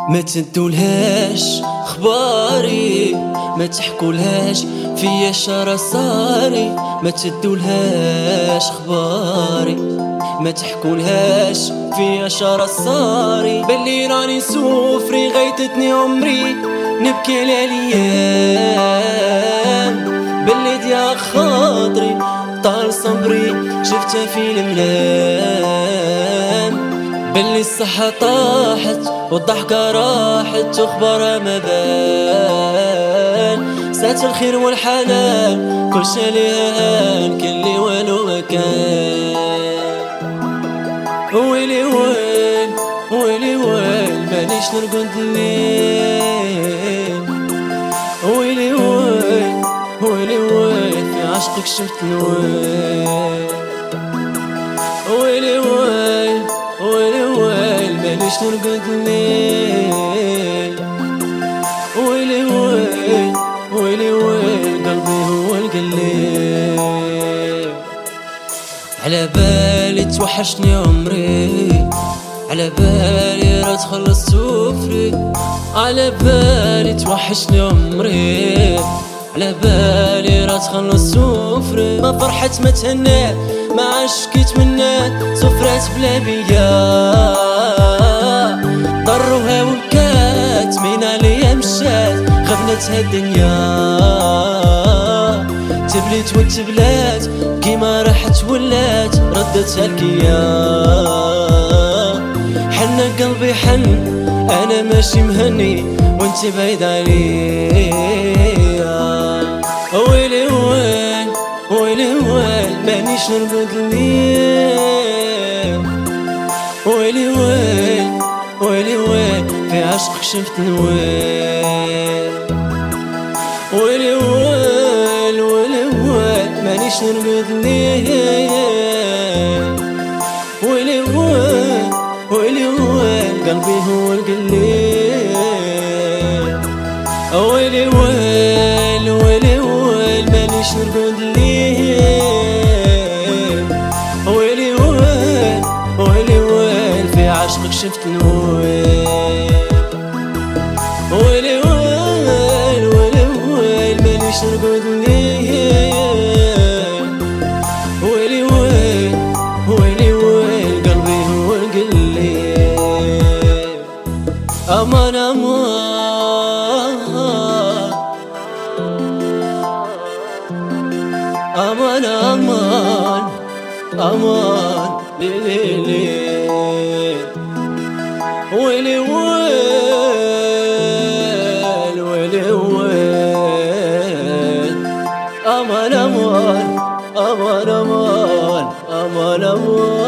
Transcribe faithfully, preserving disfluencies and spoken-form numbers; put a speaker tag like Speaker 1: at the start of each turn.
Speaker 1: ما تدولهاش خباري، ما تحكولهاش فيا شرا صاري. ما تدولهاش خباري، ما تحكولهاش فيا شرا صاري. بلي راني سوفري غيتتني عمري نبكي الايام. بلي ديا خاطري طال صبري شفتها في المنام. بلي الصحة طاحت والضحكة راحت وخبرها ما بان. ساعة الخير والحنان كل شي ليها هان، كل لي والو ما كان. ويلي ويل ويلي ويل مانيش نرقد الليل. ويلي ويل ويلي ويل في عشقك شفت الويل. ويلي ويل ويلي ويل مانيش نرقد الليل. ويلي ويل ويلي ويل قلبي هو القليل. على بالي توحشني عمري، على بالي راه تخلص سفري. على بالي توحشني عمري، على بالي راه تخلص سفري. ما فرحت ما تهنات ما عشقي تمنات، سفرات بلا بيا ضروها وبكات. من عليا مشات غبنتها الدنيا، تبليت وتبلات كيما راحت ولات ردتها الكيا. حن قلبي حن انا ماشي مهني وانت بعيد عليا. ويلي ويل ويلي ويل مانيش نرقد الليل. ويلي ويل ويلي ويل في عشقك شفت الويل. ويلي ويل ويلي ويل مانيش نرقد الليل. ويلي ويل ويلي ويل قلبي هو القليل. ويلي ويل ويلي ويل مانيش نرقد الليل. ويلي ويل ويلي ويل في عشقك شفت الويل. ويلي ويل ويلي ويل مانيش نرقد الليل. ويلي ويل ويلي ويل قلبي هو القليل. أمان أمان أمان أمان أمان ليلي ليل. ويلي ويل ويلي ويل أمان أمان أمان أمان أمان أمان